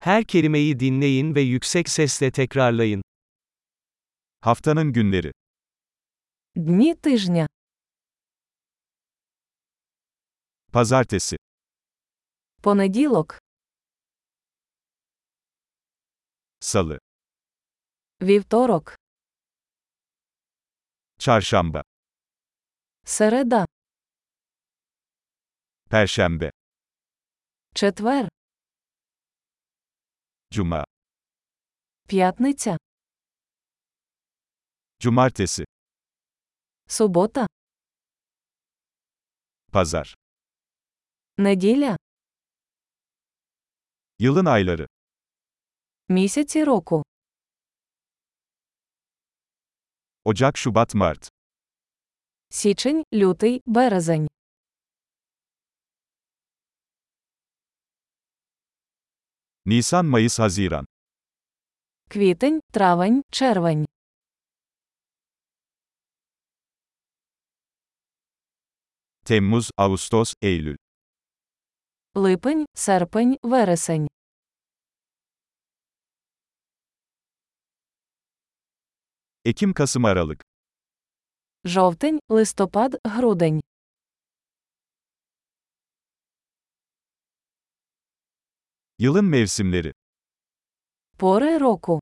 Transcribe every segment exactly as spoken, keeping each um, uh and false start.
Her kelimeyi dinleyin ve yüksek sesle tekrarlayın. Haftanın günleri. Дні тижня. Pazartesi, Понеділок, Salı, вівторок, Çarşamba, середа, Perşembe, четвер, Cuma, п'ятниця, Cumartesi, субота, Pazar. неділя, Yılın ayları. місяці року. Ocak, Şubat, Mart. Січень, лютий, березень. Nisan, Mayıs, Haziran. Квітень, травень, червень. Temmuz, Ağustos, Eylül. Липень, серпень, вересень. Ekim, Kasım, Aralık. Жовтень, листопад, грудень. Yılın mevsimleri. Пори року.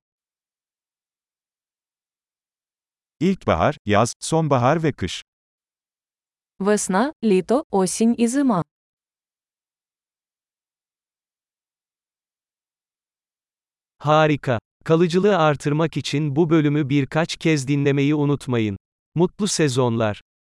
İlkbahar, yaz, sonbahar ve kış. Весна, літо, осінь і зима. Harika. Kalıcılığı artırmak için bu bölümü birkaç kez dinlemeyi unutmayın. Mutlu sezonlar.